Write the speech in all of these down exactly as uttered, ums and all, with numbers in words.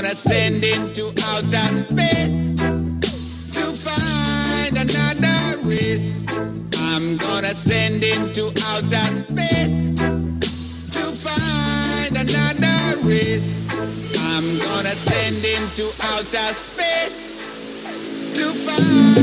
gonna send him to outer space to find another race. I'm gonna send him to outer space to find another race. I'm gonna send him to outer space to find.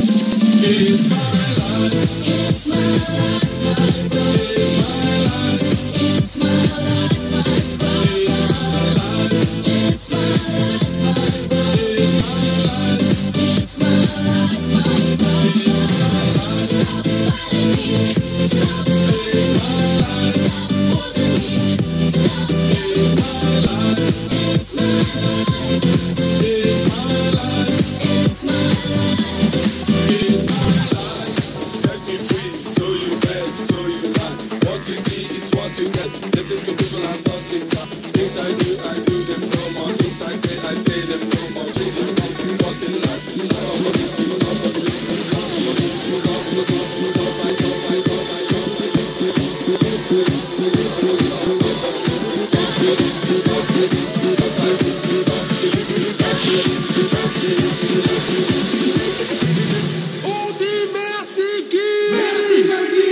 It's my life, it's my life, it's my life. more to get. Listen to people and some things. Uh, things I do, I do them no more. Things I say, I say them no more. Changes come, what's in life? It's not for me, it's not for me, it's not for me, it's not for me, it's not my, it's not my, it's not my, it's not my, On dit merci qui? Merci Jackie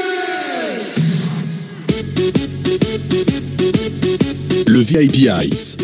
Michel. Le V I P Ice.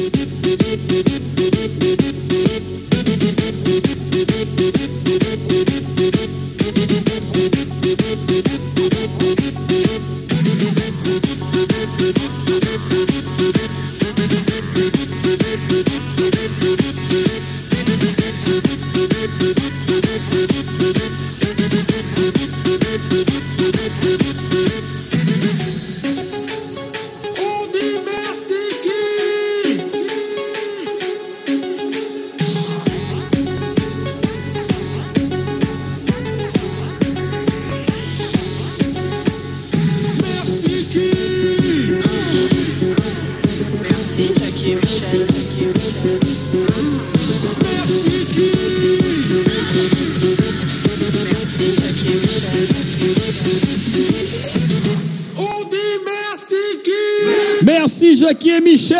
Merci Jackie et Michel.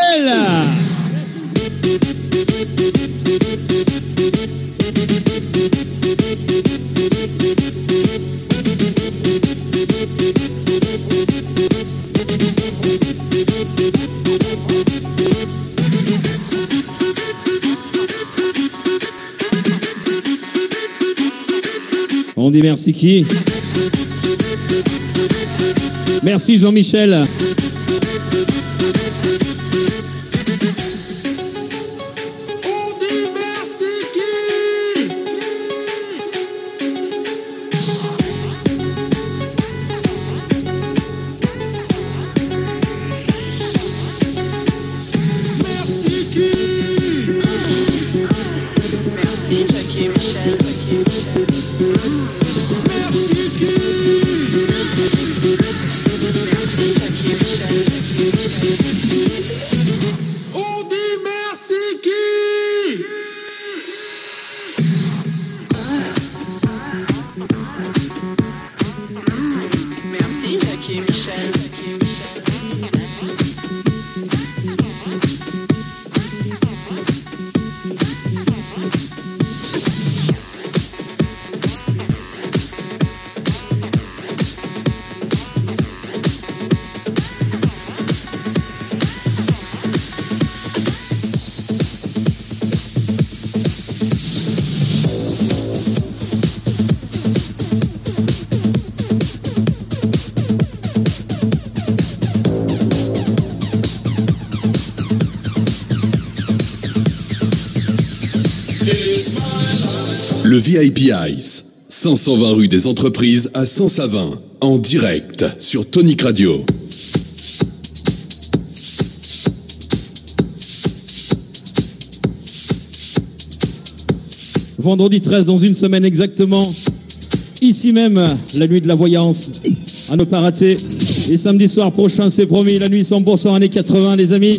On dit merci qui? Merci Jean-Michel. Le V I P Ice, cinq cent vingt rue des Entreprises à Saint-Savin, en direct sur Tonic Radio. Vendredi treize, dans une semaine exactement, ici même, la nuit de la voyance, à ne pas rater. Et samedi soir prochain, c'est promis, la nuit cent pour cent années quatre-vingts, les amis.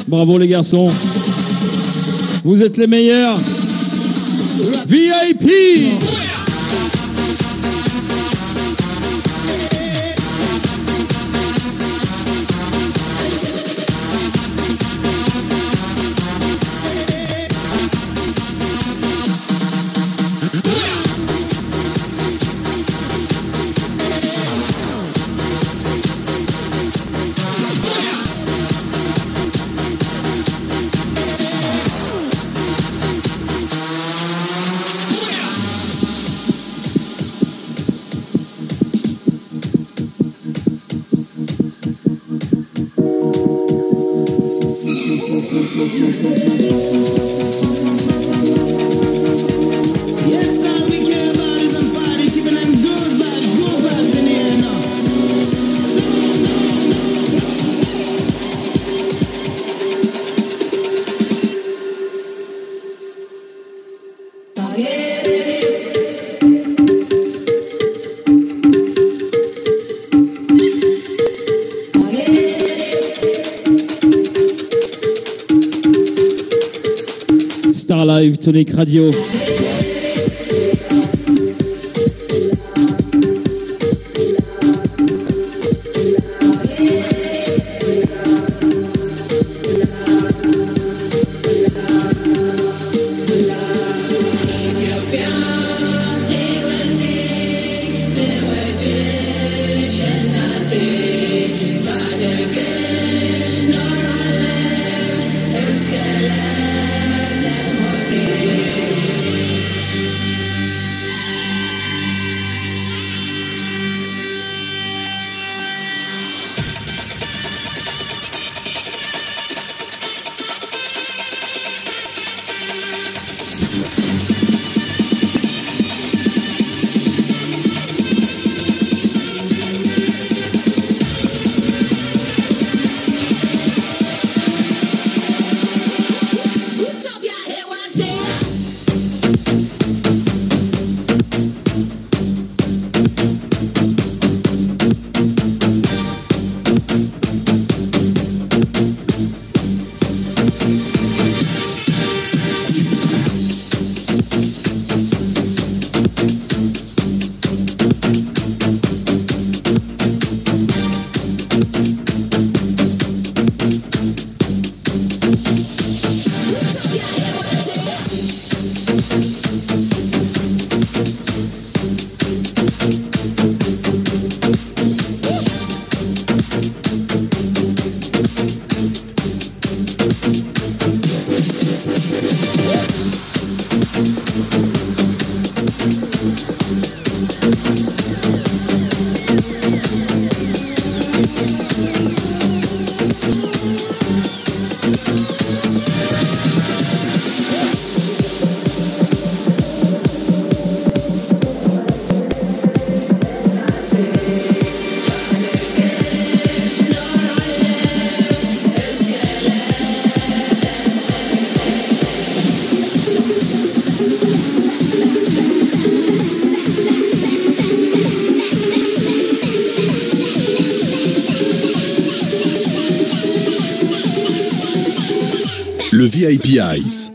Bravo les garçons. Vous êtes les meilleurs. V I P. Star Live, Tonic Radio. Le V I P Ice.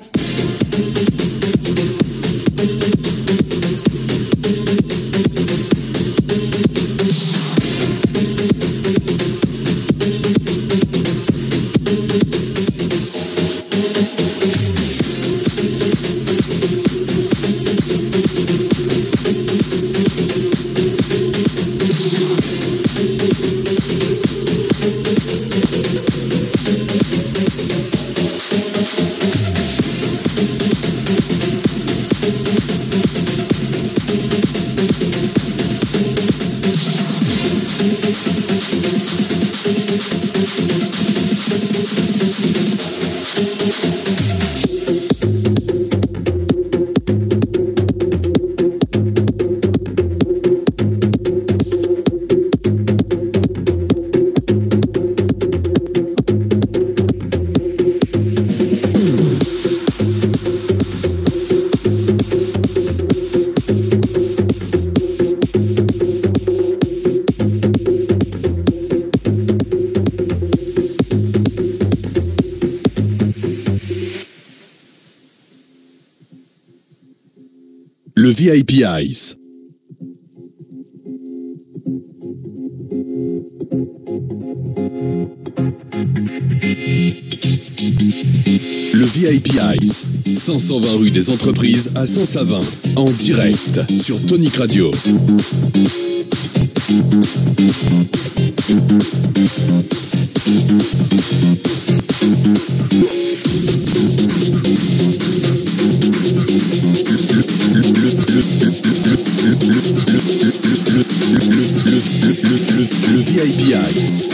Le V I P Ice. Le V I P Ice, cinq cent vingt rue des Entreprises à Saint-Savin, en direct sur Tonic Radio. Le V I P Ice.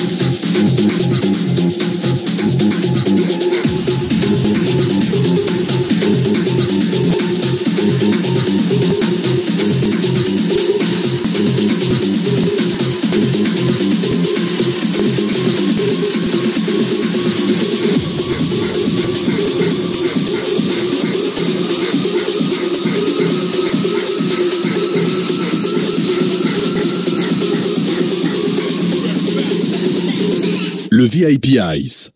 Le V I P Ice.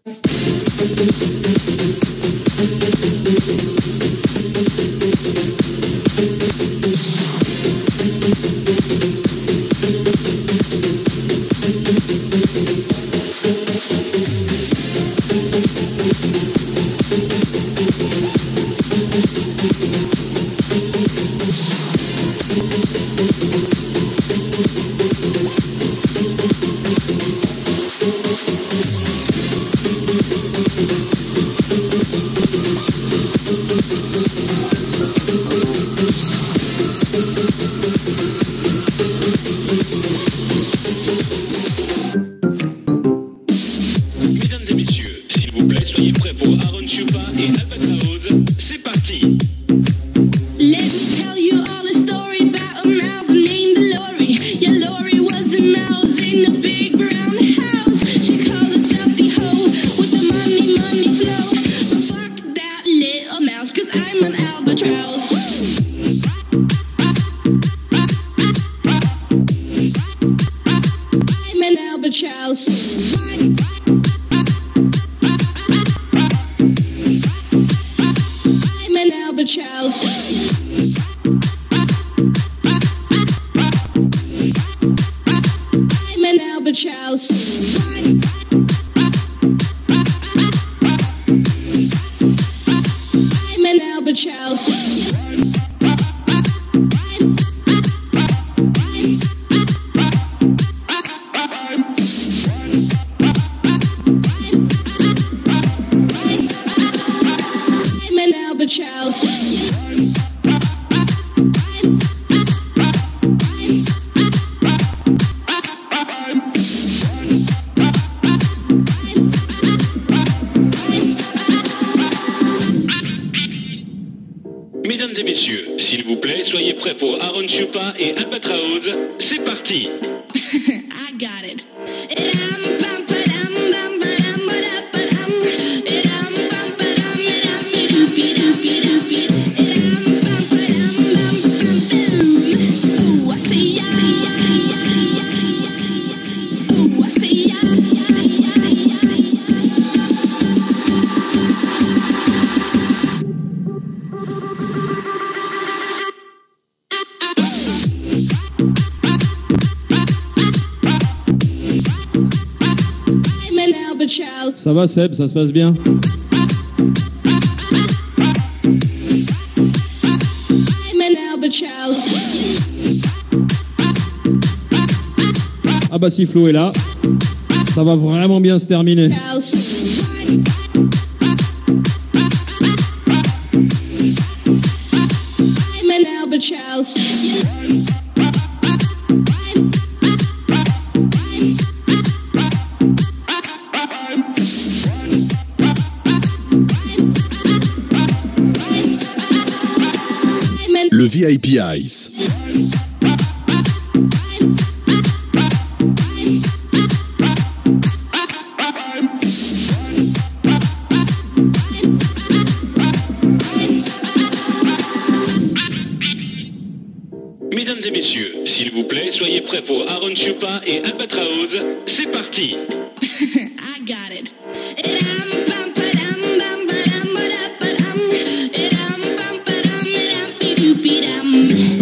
Mesdames et messieurs, s'il vous plaît, soyez prêts pour Aaron Chupa et Albatraoz. C'est parti. I got it. Ça va Seb, ça se passe bien? Ah bah si Flo est là, ça va vraiment bien se terminer. Le V I P Ice. Mesdames et messieurs, s'il vous plaît, soyez prêts pour Aaron Chupa et Albatraoz. C'est parti. I got it. Ooh.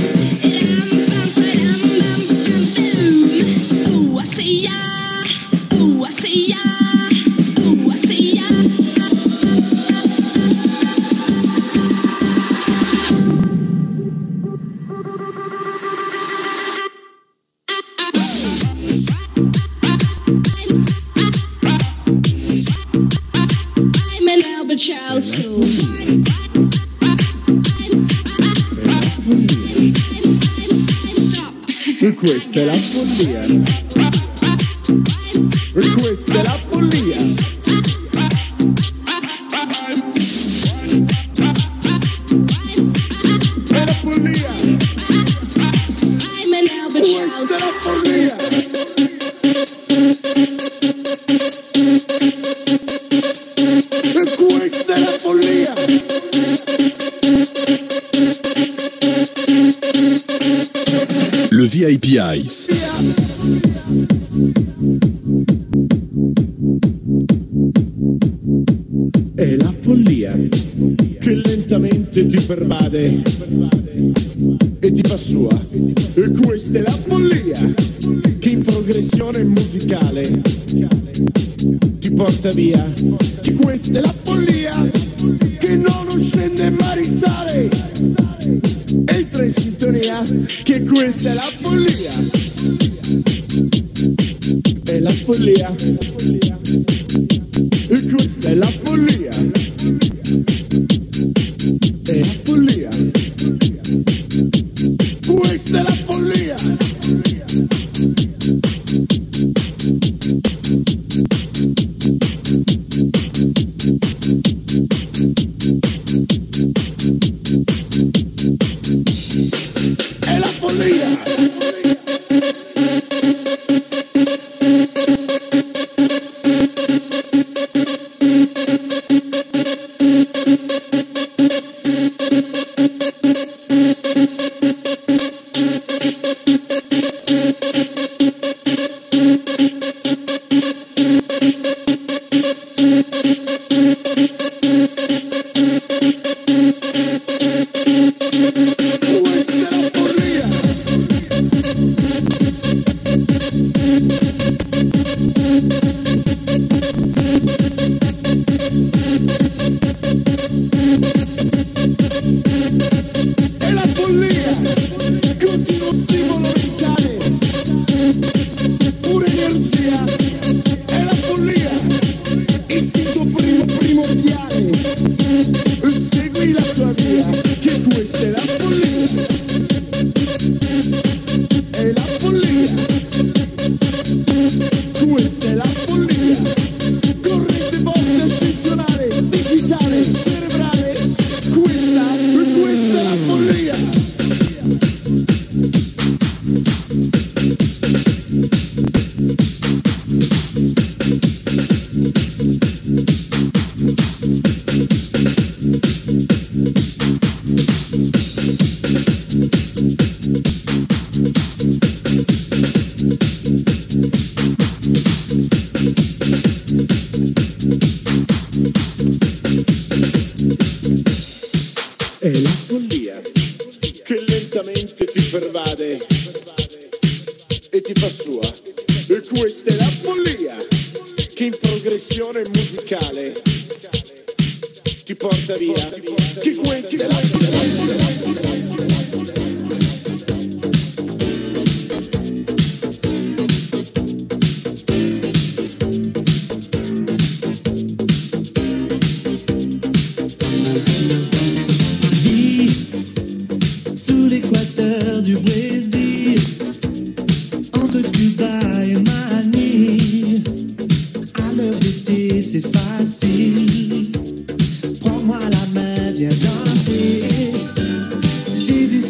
the child's soul. E questa è la follia. E questa è la follia. È la follia. I'm an Albert child. Questa è la follia. E questa è la follia. Le V I P Ice. È la follia che lentamente ti pervade e ti fa sua. E questa è la follia che in progressione musicale ti porta via. Che questa è la follia che non scende ma risale. Entra in sintonia, che questa è la follia. È la follia. E questa è la follia. È la follia. Questa è la follia. È la follia. J'ai du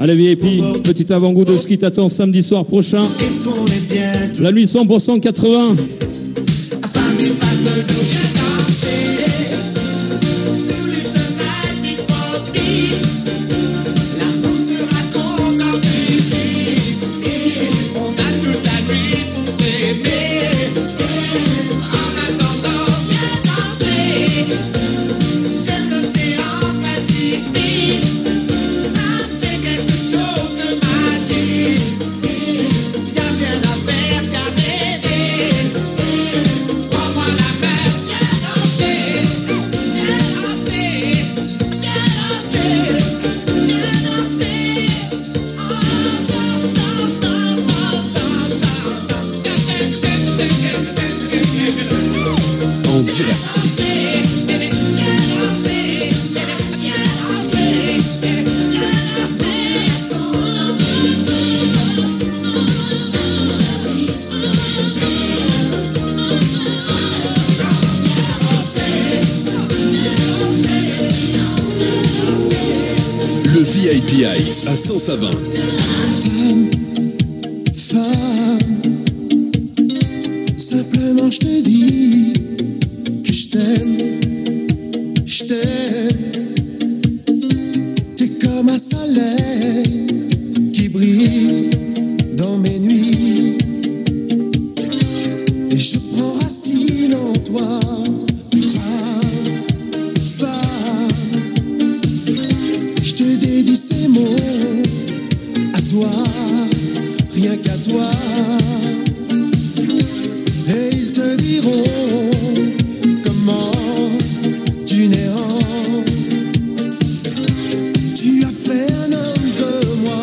Allez V I P, petit avant-goût de ce qui t'attend samedi soir prochain. Qu'est-ce qu'on est bien tous La nuit cent pour cent quatre-vingts. afin des faces de bien danser. Sous les soleils des tropiques, l'amour sera qu'on en musique. On a toute la nuit pour s'aimer. En attendant bien danser, j'aime l'océan Pacifique. Ça fait quelque chose de magique. Y'a rien à faire qu'à rêver. Prends-moi la main, viens danser, viens danser, viens danser, viens danser. Oh, danse, danse, danse, danse, danse, danse. En direct. Le V I P Ice à Saint-Savin. Femme, simplement je te dis que je t'aime, je t'aime. T'es comme un soleil qui brille dans mes nuits. Et je prends racine en toi, femme, femme. Je te dédie ces mots à toi, rien qu'à toi. Et ils te diront comment du néant tu as fait un homme de moi.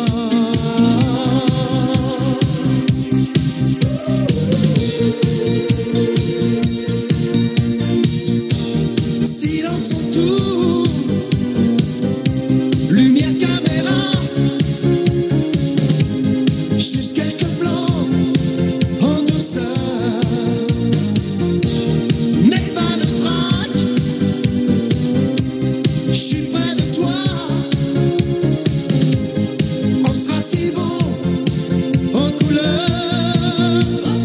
Silence autour, lumière caméra, juste quelques plans en douceur, mais pas de trac. Je suis près de toi, on sera si bon en couleur.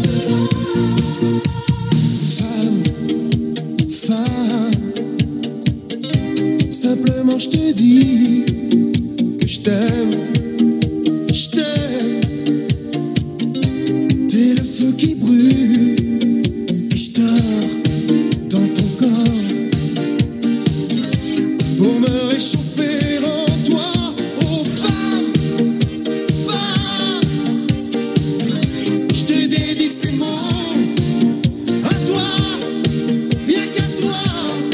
Femme, femme, simplement je te dis que je t'aime, je t'aime. T'es le feu qui brûle et je dors dans ton corps pour me réchauffer en toi. Oh femme, femme, je te dédie ces mots à toi, rien qu'à toi.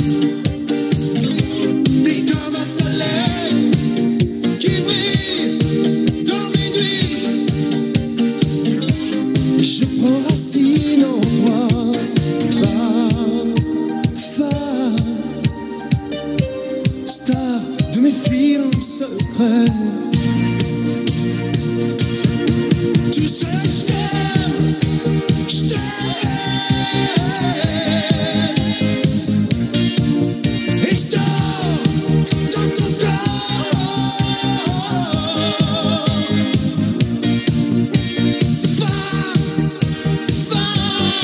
T'es comme un soleil qui brille dans mes nuits. Je prends racine en toi, femme, femme, star de mes films secrets. Tu sais, je t'aime, je t'aime. Et je dors dans ton corps. Femme, femme,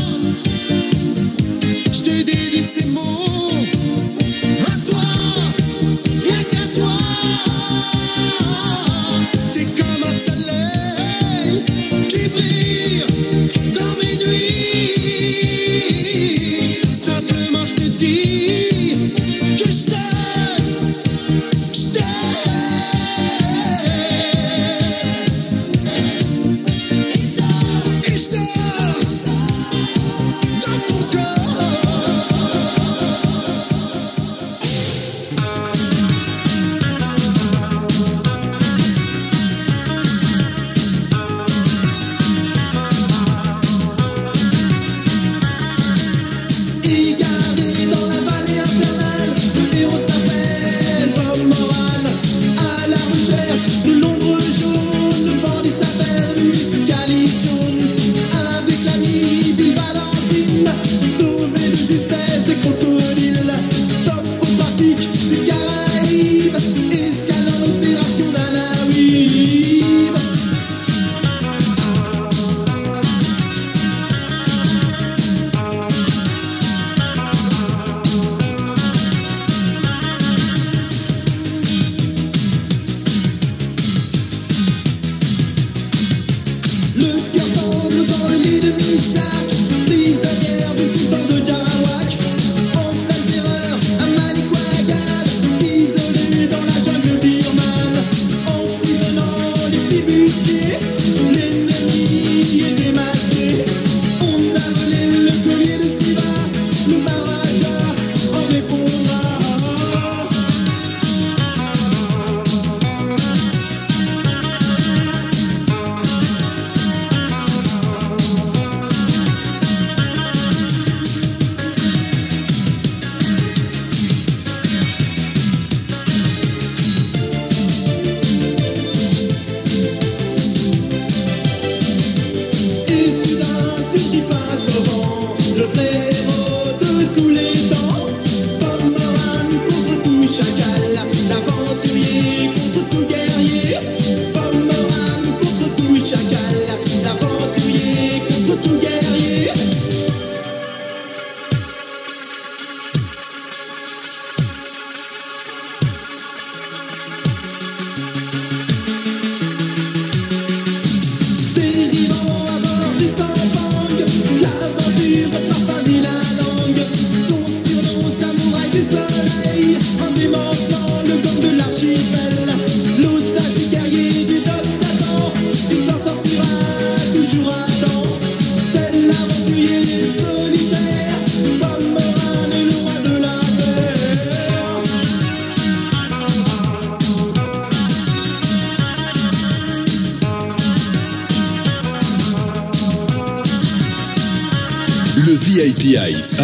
Le V I P Ice.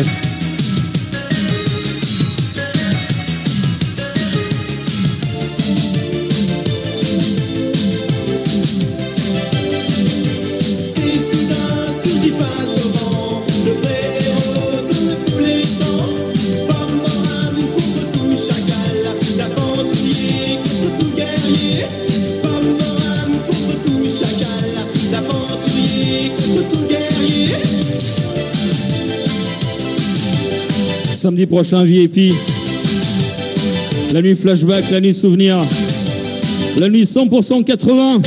Samedi prochain, V I P. La nuit flashback, la nuit souvenir. La nuit cent pour cent quatre-vingts.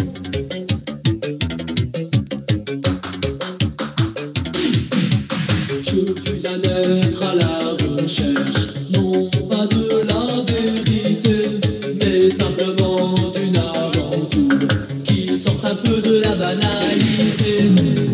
Je suis un être à la recherche, non pas de la vérité, mais simplement d'une aventure qui sort un peu de la banalité.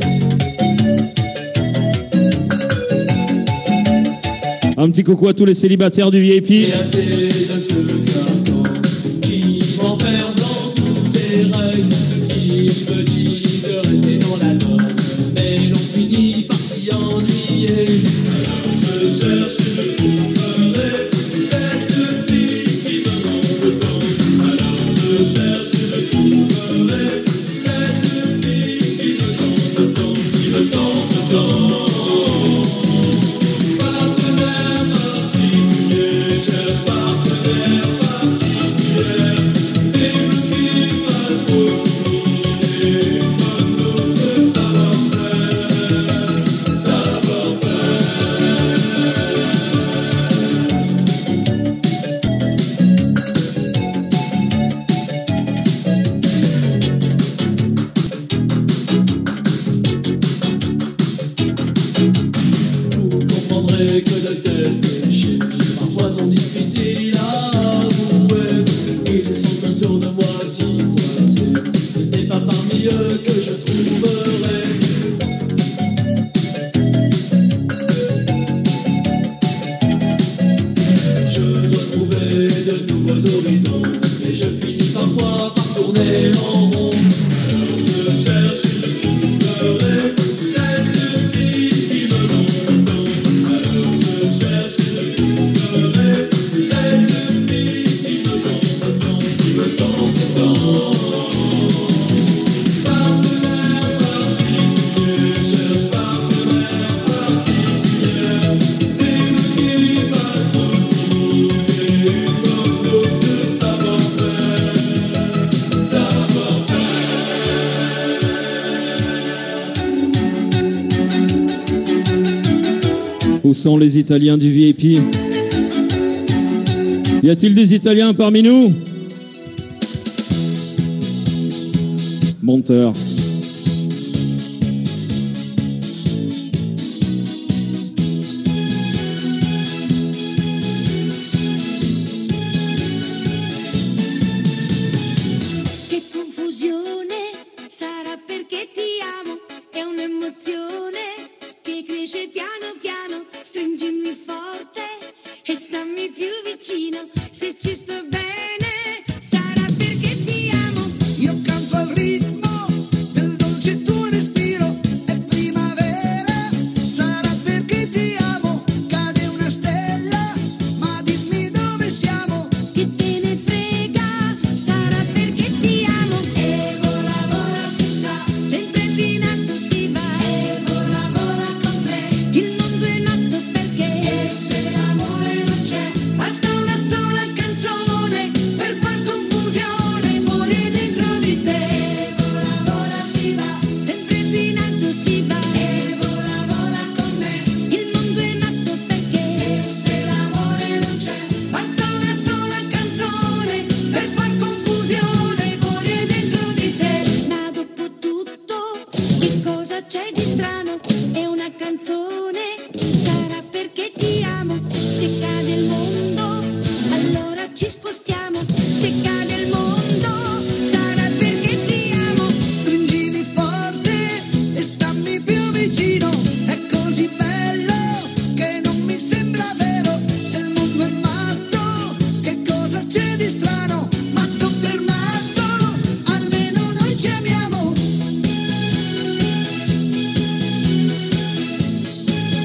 Un petit coucou à tous les célibataires du V I P. Et assez de ce carton qui m'enferme dans tous ses règles. Il me dit de rester dans la norme, mais l'on finit par s'y ennuyer. Alors je cherche et je trouverai cette fille qui me demande tant. Alors je cherche et je trouverai cette fille qui me demande tant, qui me demande tant. Que de tels péchés parfois sont difficiles à avouer. Ils sont autour de moi si froissés. Ce n'est pas parmi eux que je trouverai je dois trouver de nouveaux horizons, et je finis parfois par tourner en rond. Alors je cherche et je trouverai cette fille qui me demande tant. Où sont les Italiens du V I P? Y a-t-il des Italiens parmi nous? Monteur. Che confusione, sarà perché ti amo, è un'emozione che cresce piano piano, stringimi forte e stammi più vicino, se ci sto bene sarà perché ti amo. Io canto al ritmo del dolce tuo respiro, è primavera, sarà perché ti amo, cade una stella, ma dimmi dove siamo. Che te ne frega, sarà perché ti amo. E vola vola si sa, sempre più in alto si va. E vola vola con me, il mondo è nato perché. E se l'amore non c'è, basta una sola canzone per far confusione fuori e dentro di te. E vola vola si va, sempre più in alto si va. E vola vola con me, il mondo è nato perché. E se l'amore non c'è, basta una sola canzone per far confusione fuori e dentro di te. Ma dopo tutto, che cosa c'è di strano? È una canzone, sarà perché ti amo. Se cade il mondo, allora ci spostiamo. Se cade il mondo, sarà perché ti amo. Stringimi forte e stammi più vicino, è così bello che non mi sembra vero. Se il mondo è matto, che cosa c'è di strano? Matto per matto, almeno noi ci amiamo.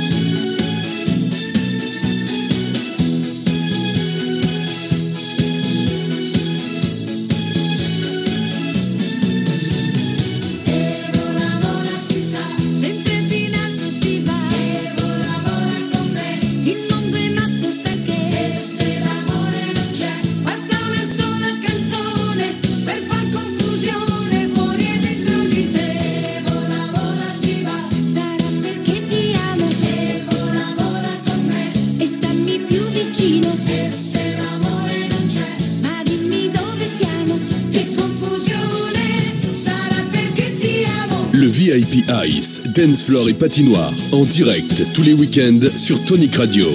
Le V I P Ice, Dance Floor et Patinoire, en direct tous les week-ends sur Tonic Radio.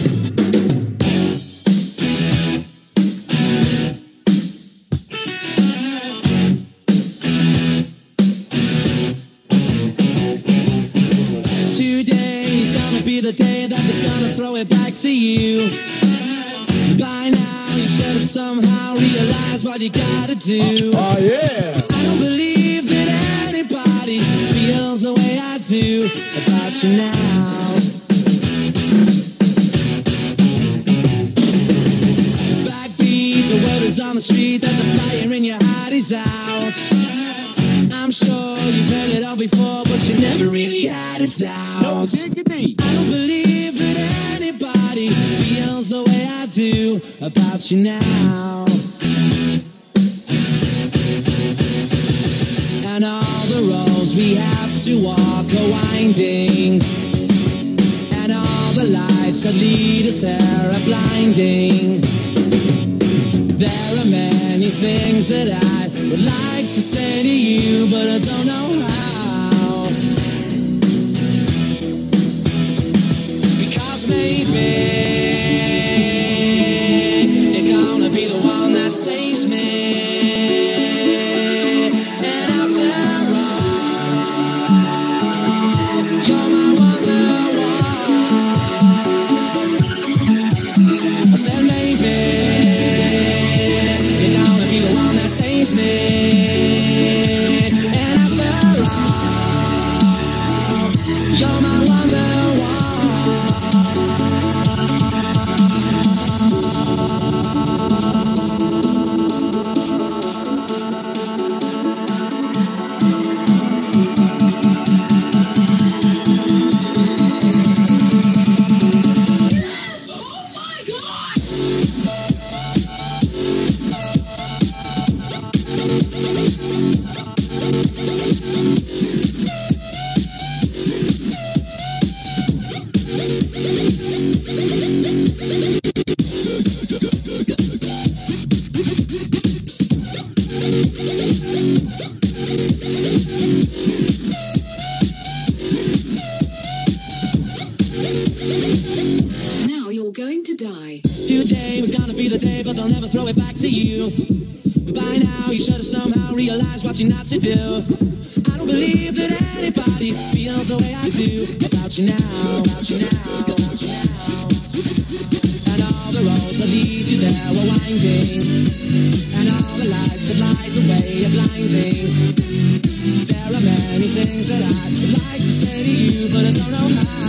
Today's gonna be the day that they're gonna throw it back to you. By now you should have somehow realized what you gotta do. Oh yeah! I don't believe that anybody feels the way I do about you now. Backbeat, the word is on the street that the fire in your heart is out. I'm sure you've heard it all before, but you never really had a doubt. No diggity. I don't believe that anybody feels the way I do about you now. And all the roads we have to walk are winding, and all the lights that lead us there are blinding. There are many things that I would like to say to you, but I don't know how. Because maybe you're gonna be the one that saves me. And after all, you're my wonderwall. I said maybe you're gonna be the one that saves me. And after all, you're my wonderwall. Now you're going to die. Today was gonna be the day, but they'll never throw it back to you. By now, you should have somehow realized what you're not to do. I don't believe that anybody feels the way I do about you now, about you now, about you now. And all the roads that lead you there were winding, and all the lights that light the way are blinding. There are many things that I would like to say to you, but I don't know how.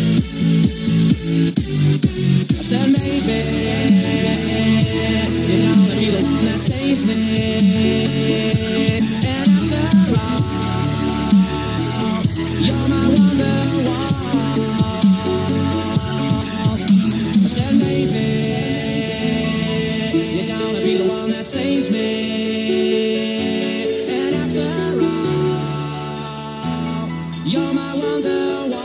I said maybe you're gonna be the one that saves me. And after all, you're my wonderwall. I said maybe you're gonna be the one that saves me. And after all, you're my wonderwall.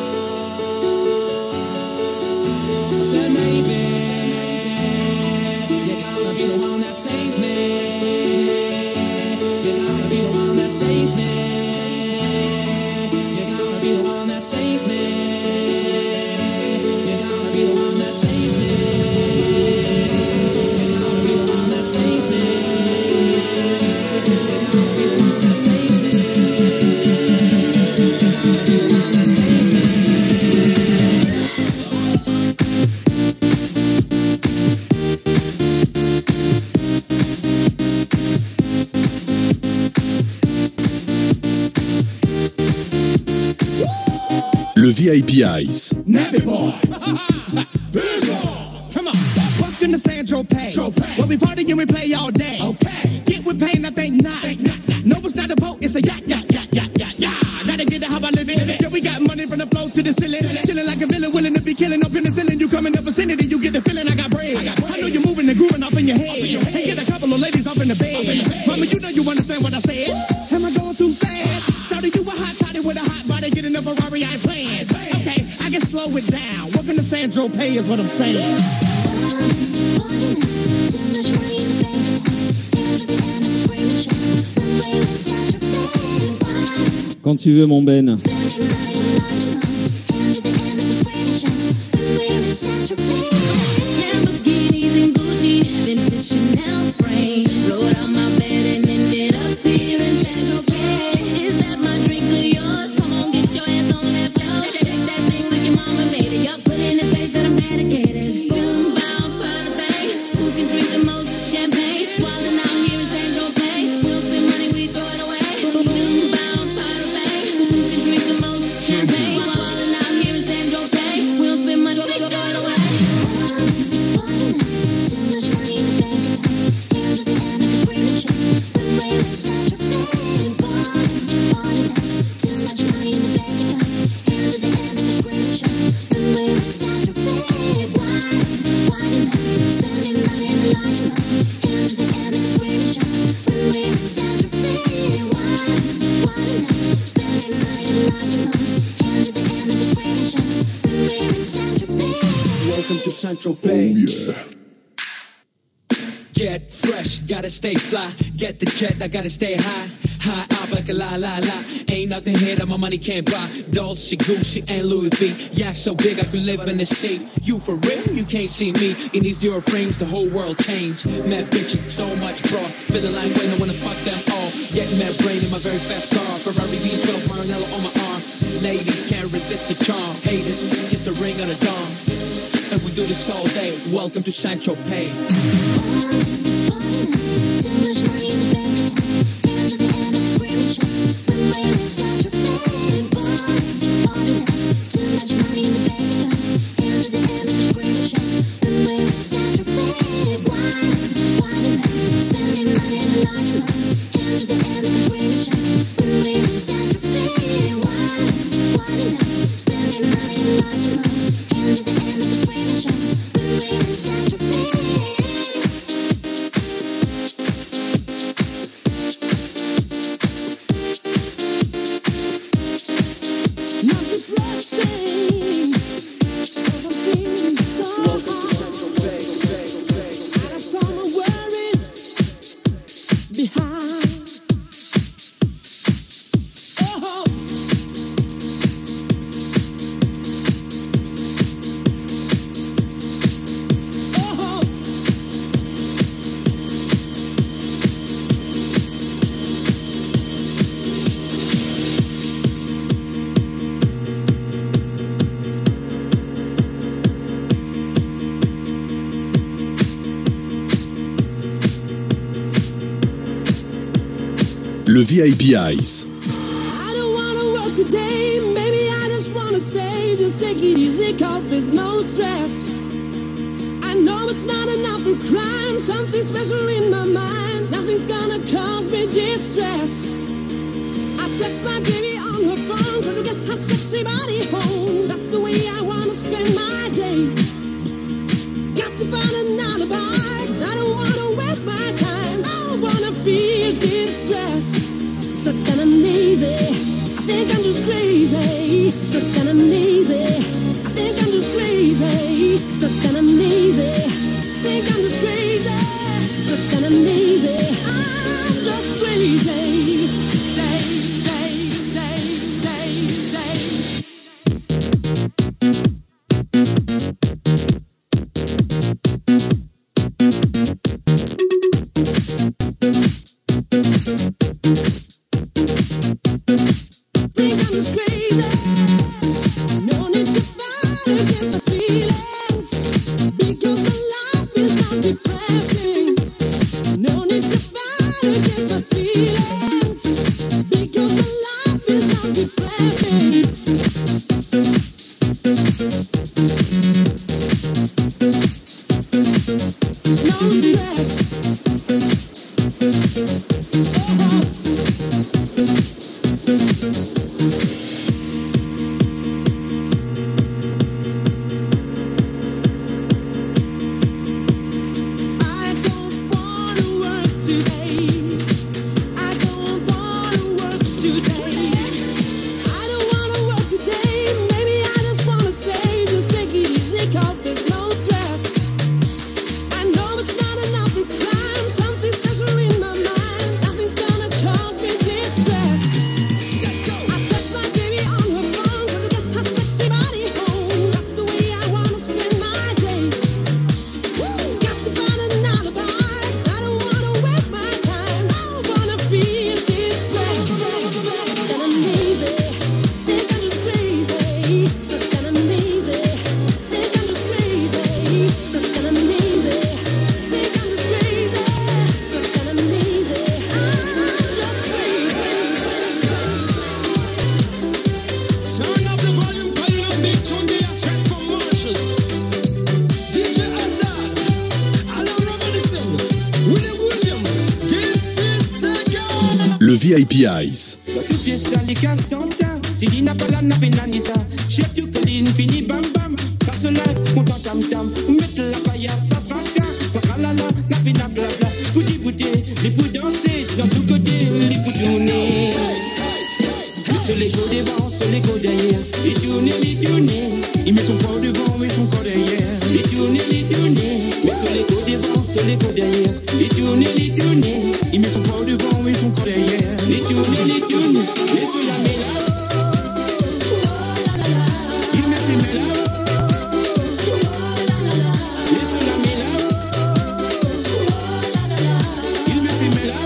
I said maybe you're gonna be the one that saves me. You're gonna be the one that saves me. You're gonna be the one that saves me. You're gonna be the one that saves me. You're gonna be the one that saves me. You're gonna be the one that saves me. You're gonna be the one that saves me. Le V I P Ice. Nappy boy. Big on. Come on. Welcome to Sandro Pay. Where we party and we play all day. Okay. Get with pain, I think not. No, it's not a boat, it's a yacht, yacht, yacht, yacht, yacht, yacht. Gotta get it how I live it. Yeah, we got money from the floor to the ceiling. Chilling like a villain, willing to be killing up in the ceiling. You come in the vicinity, you get the feeling I got bread. I know you're moving and grooving off in your head. And get a couple of ladies off in the bed. Mama, you know you understand what I said. Am I going too fast? Shawty, you a hot toddy with a hot body. Get in a Ferrari, I ain't playing. Okay, I can slow it down. Welcome to Sandro Pay is what I'm saying. Quand tu veux, mon Ben. Lamborghinis and Gucci, vintage Chanel frame. Rolled out my bed and ended up here in Central Bay. Is that my drink of yours? Come on, get your ass on that floor. Check that thing like your mama made it. Yup, put in the space that I'm dedicated. Boom, bow, bada bang. Who can drink the most champagne? Wildin' out here in Central Bay. We'll spend money, we throw it away. Boom, bow, bada bang. Who can drink the most champagne? Wildin' out here in Central Bay. We'll spend money, we throw it away. Welcome to Central Bay. Oh, yeah. Get fresh, gotta stay fly. Get the jet, I gotta stay high. High up like a la la la. Ain't nothing here that my money can't buy. Dolce, Gucci, and Louis V. Yeah, so big I could live in the sea. You for real? You can't see me. In these Dior frames, the whole world changed. Mad bitches, so much broad. Feeling like when I wanna fuck them all. Getting that brain in my very fast car. Ferrari V twelve, Maranello on my arm. Ladies can't resist the charm. Haters, kiss the ring on the dawn. And we do this all day. Welcome to Sancho Pay. Le V I P Ice. I don't wanna work today, maybe I just wanna stay. Just take it easy cause there's no stress. I know it's not enough for crime, something special in my mind. Nothing's gonna cause me distress. I text my baby on her phone, trying to get her sexy body home. That's the way I wanna spend my day. Got to find an alibi, cause I don't wanna waste my time. I don't wanna feel distress. Stuck and I'm lazy, I think I'm just crazy. Stuck and I'm lazy, I think I'm just crazy. Stuck and I'm lazy, I think I'm just crazy. Stuck and I'm lazy, I'm just crazy. Day, day, day, day, think I'm just crazy. No need to fight against the feelings, because my life is not depressing. No need to fight against my feelings, because my life is not depressing. No stress. I don't wanna work today. I don't wanna work today. I don't wanna work today. Maybe I just wanna stay. Just take it easy cause there's no stress. I know it's not enough to climb. Something special in my mind. Nothing's gonna cause me distress. I V I P Ice. Tu fiesta li castanta, si li n'a pas la n'a penanisa. Chef tu colline fini bam bam. Ça se lève, content tam tam. Mettre la paille sa vaca, sa kalala, n'a pena blabla. Boudi boudé, les bouts danser, dans tout côté, les bouts tourner. Sur les go devant, sur les go derrière. Les tourner, les tourner. Il met son corps devant, met son corps derrière. Les tourner, les tourner. Mais sur les go devant, sur les go derrière. Les tourner, les tourner. Il met son corps devant, met son corps derrière. Les tourner, les tourner. Les sur la méla. Il met ses méla. Les sur la méla. Il met ses méla.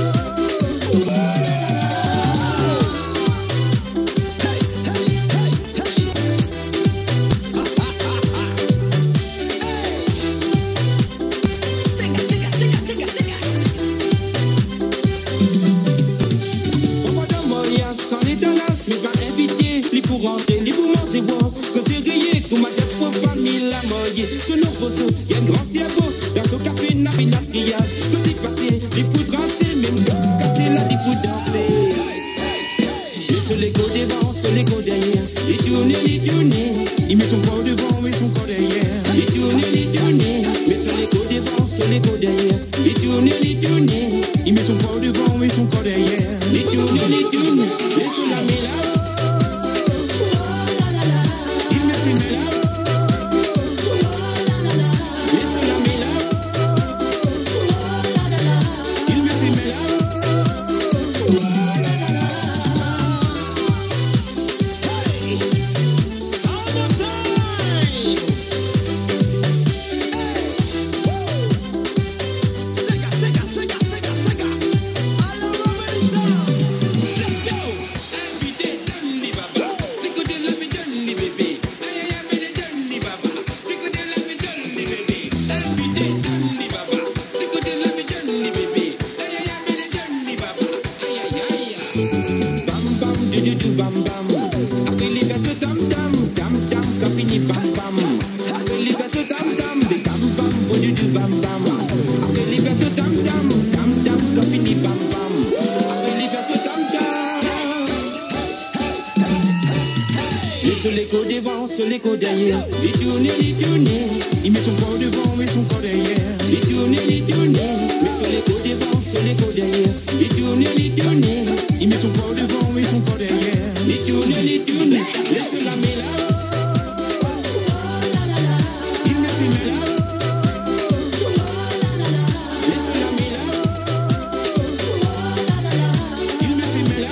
Pour rentrer, les poumons c'est bon. Quand c'est grillé, tout m'a dit pour famille la moye. Sur nos poteaux, y'a un grand cerveau. Dans son café, n'a pas de triage. Tout est passé, les poudres danser. Même gosse cassé, là, des poudres danser. Et sur les go devant, sur les go derrière. Les tourner, les tourner. Il met son corps devant, met son corps derrière. Les tourner, les tourner. Mais sur les go devant, sur les go derrière. Les tourner, les tourner. Il met son corps devant, met son corps derrière. Les tourner, les tourner. Et sur la méla. Sur les go devant, sur les go derrière. Les tourner, les tourner. Il met son corps devant, met son corps derrière. Les tourner, les tourner. Mais sur les go devant, sur les go derrière. Les tourner, les tourner. Il met son corps devant, met son corps derrière. Les tourner, les tourner. Laisse la méla. Il met ses méla. Laisse la méla. Il met ses méla.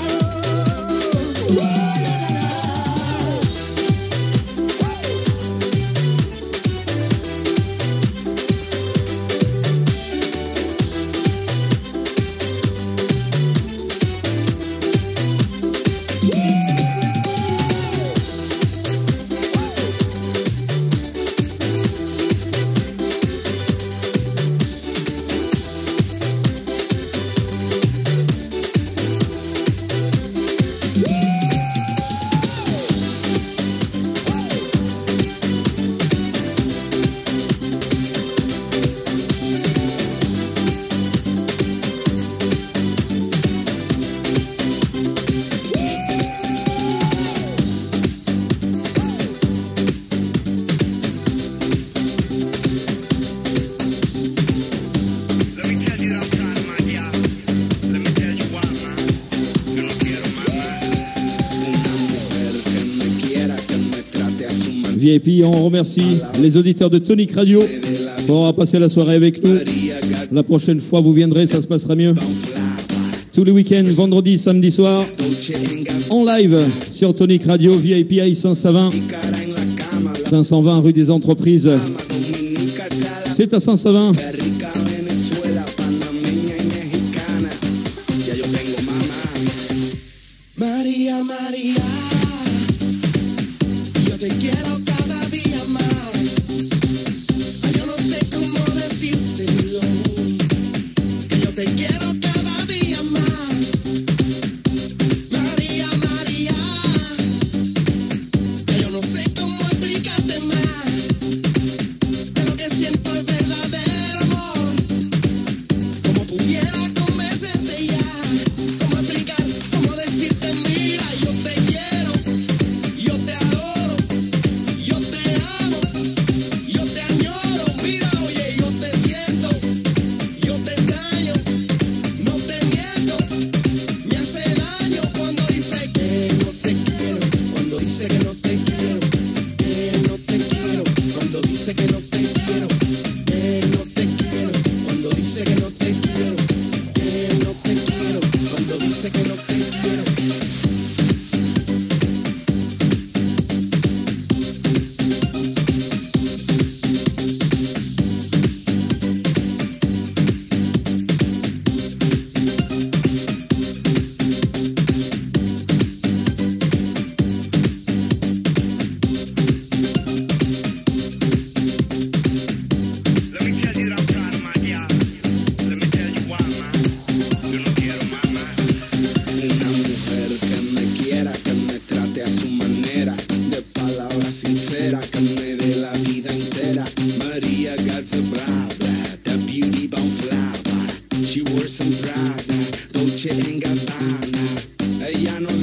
V I P, on remercie les auditeurs de Tonic Radio pour avoir passé la soirée avec nous. La prochaine fois, vous viendrez, ça se passera mieux. Tous les week-ends, vendredi, samedi soir, en live sur Tonic Radio, V I P I cinq cent vingt, cinq cent vingt rue des Entreprises. C'est à cinq cent vingt. María, María, yo te quiero cada día más. Ay, yo no sé cómo decírtelo, que yo te quiero cada día más. María, María, que yo no sé cómo explicarte más. Pero que siento es verdadero amor. Como pudiera convencerte ya, cómo explicarte.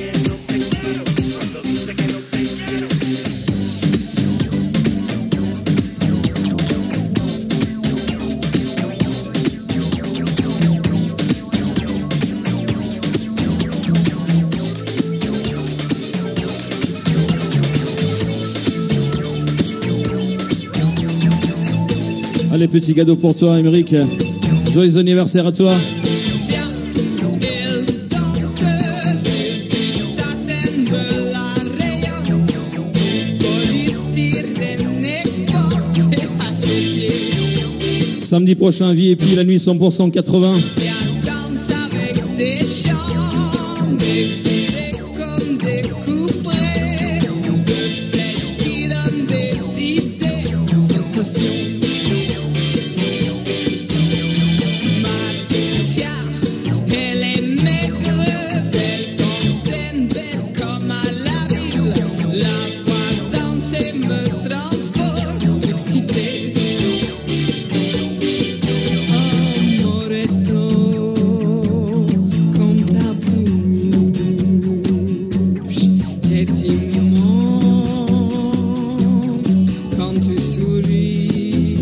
Allez, petit cadeau pour toi, Émeric. Joyeux anniversaire à toi. Samedi prochain, V I P, la nuit cent pour cent quatre-vingts. Quand tu souris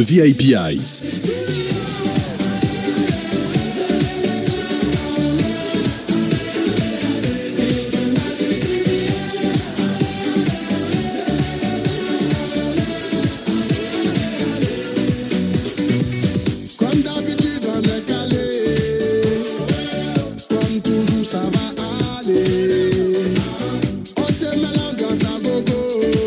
V I P Ice. Comme d'habitude, on est calé. Comme toujours, ça va aller. On te met l'ambiance à gogo.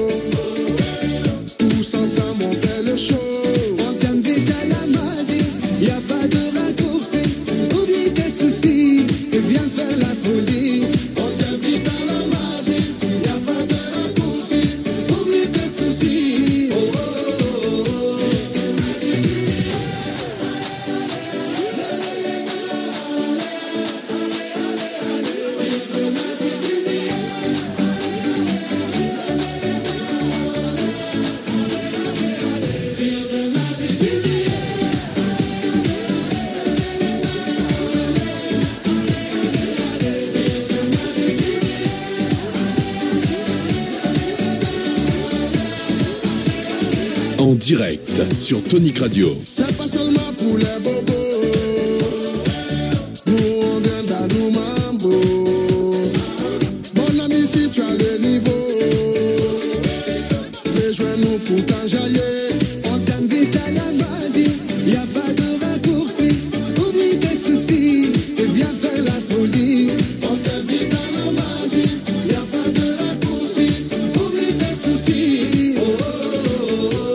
Tous ensemble, on fait le show. On t'invite à la magie. Y a pas de raccourci. Oublie tes soucis et viens faire la folie. On t'invite à la magie. Y a pas de raccourci. Oublie tes soucis. Oh, oh, oh, oh. En direct sur Tonic Radio. C'est pas seulement pour les bobos. Nous on vient d'Alou Mambo. Mon ami, si tu as le niveau, rejoins-nous pour t'enjailler. On t'invite à la magie. Y a pas de raccourci. Oublie tes soucis et viens faire la folie. On t'invite à la magie. Y a pas de raccourci. Oublie tes soucis. Oh, oh, oh, oh.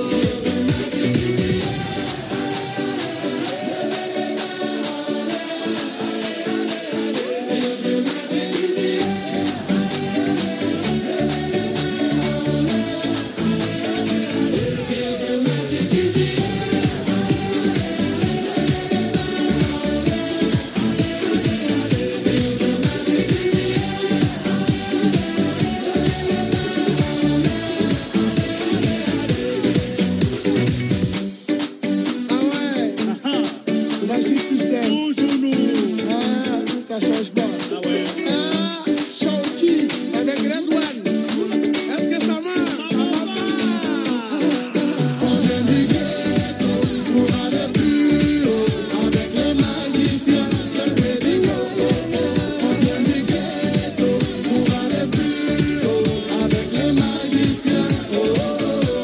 Ah ouais, magique système. Toujours nous. Ah, ça change pas. Ah ouais. Ah, Shawky avec Red One. Est-ce que ça marche? Ça va pas. On vient du ghetto pour aller plus haut. Avec les magiciens, c'est le pédico. On vient du ghetto pour aller plus haut. Avec les magiciens. Oh, oh, oh.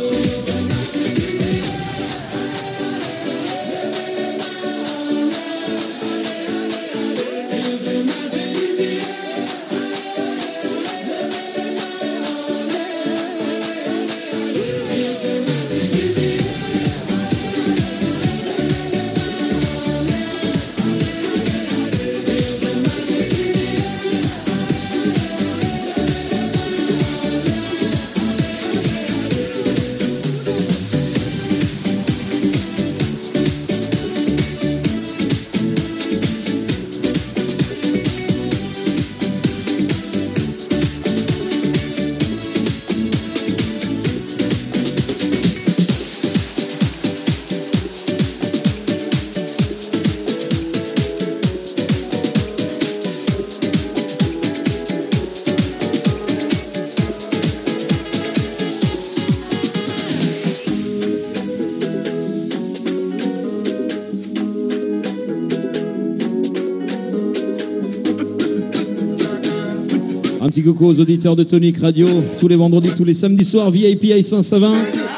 Un petit coucou aux auditeurs de Tonic Radio, tous les vendredis, tous les samedis soirs, V I P à Saint-Savin.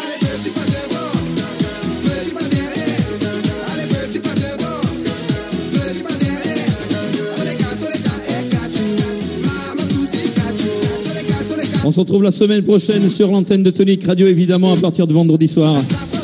On se retrouve la semaine prochaine sur l'antenne de Tonic Radio, évidemment, à partir de vendredi soir.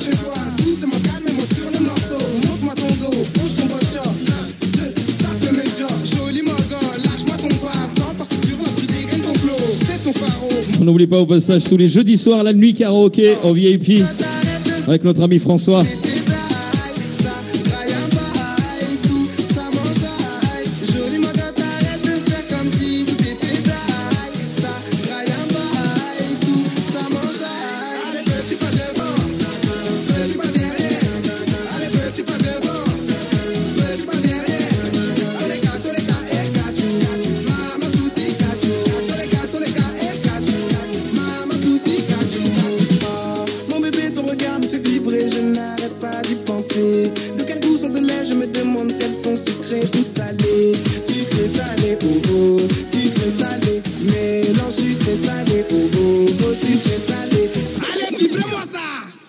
On n'oublie pas au passage tous les jeudis soirs la nuit karaoké au V I P avec notre ami François. Mon bébé, ton regard me fait vibrer, je n'arrête pas. danser. De quel goût sont tes lèvres? Je me demande si elles sont sucrées ou salées. Sucré, salé, oh oh, sucré, salé. Mélange sucré, salé, oh oh, oh sucré, salé. Allez, vibre-moi ça!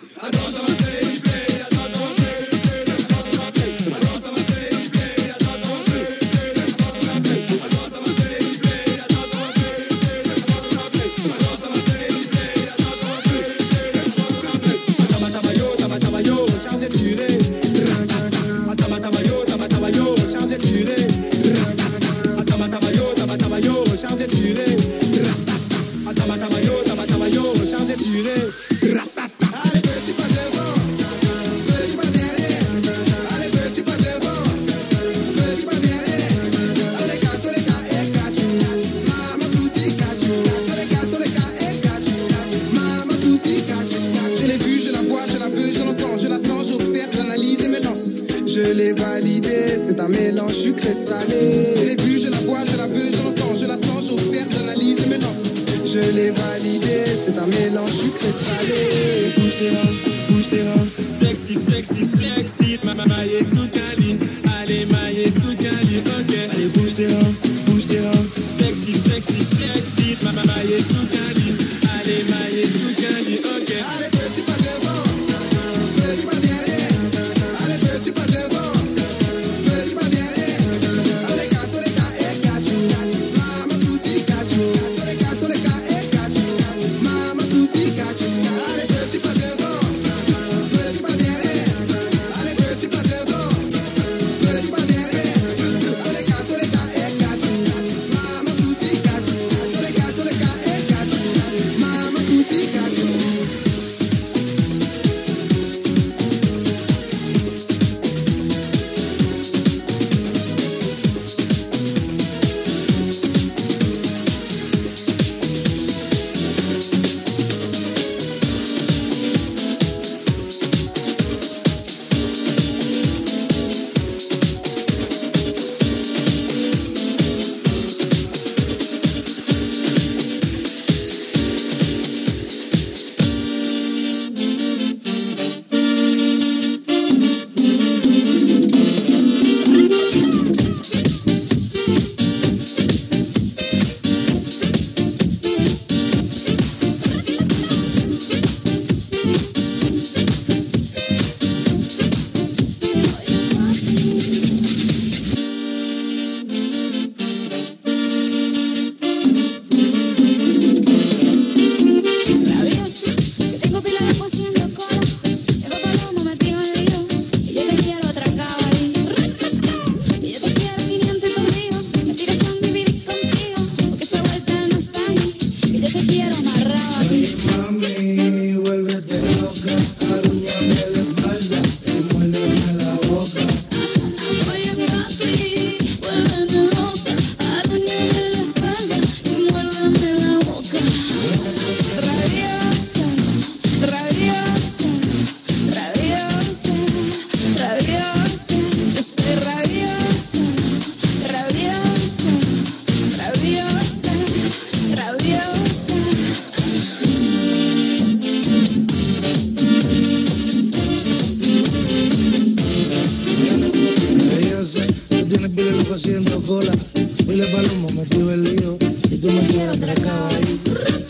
Je l'ai validé, c'est un mélange sucré-salé. Je l'ai vu, je la vois, je la veux, je l'entends, je la sens, j'observe, j'analyse et me lance. Je l'ai validé, c'est un mélange sucré-salé. Bouge tes reins, bouge tes reins. Sexy, sexy, sexy. Ma maille sous Cali. Allez, maille sous Cali, ok. Allez, bouge tes reins, bouge tes reins. Sexy, sexy, sexy. Ma maille sous Cali. Allez, maille sous Cali, ok. Allez, petit pas devant, petit pas derrière. Allez, petit pas devant, petit pas derrière. Allez, gato, les gars, et gato. Mama souci, gato. Les gato, les gars, et gato. Mama souci, gato. Allez, petit pas devant, petit pas derrière. Allez, petit pas devant, petit pas derrière. Allez, gato, les gars, et gato. Mama souci, gato. Les gato, les gars, et gato. Mama souci, gato. haciendo cola. Pile palomo metido el lío. Y tú me quieres atracar ahí.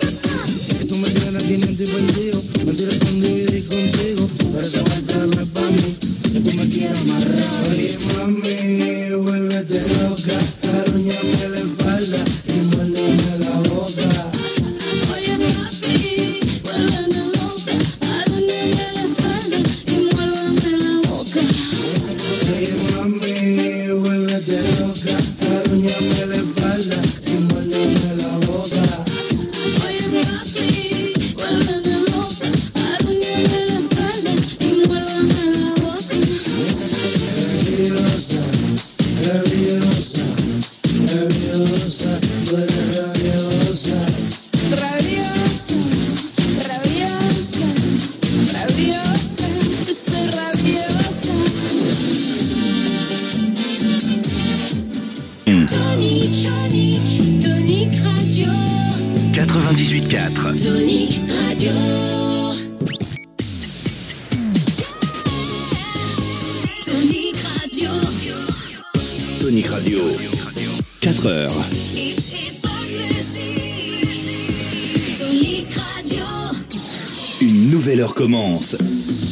Y tú me tienes quinientos y perdido. Mentira con dividir contigo. Pero esa vuelta no es pa' mí. Que tú me quieres amarrar. Oye mami, vuélvete loca. Arruñame la espalda y muérdeme la boca. Oye papi, vuélveme loca. Arruñame la espalda y muérdeme la boca. Oye mami, vuélvete loca. Arruñame la espalda y muérdeme la boca. Oye papi, vuélveme loca. Arruñame la espalda y muérdeme la boca. Rabiosa, rabiosa, rabiosa, tú eres rabiosa. Rabiosa, rabiosa, rabiosa, yo soy rabiosa. Tonic, Tonic Radio, quatre-vingt-dix-huit quatre. Tonic Radio. Radio. quatre heures. Une nouvelle heure commence.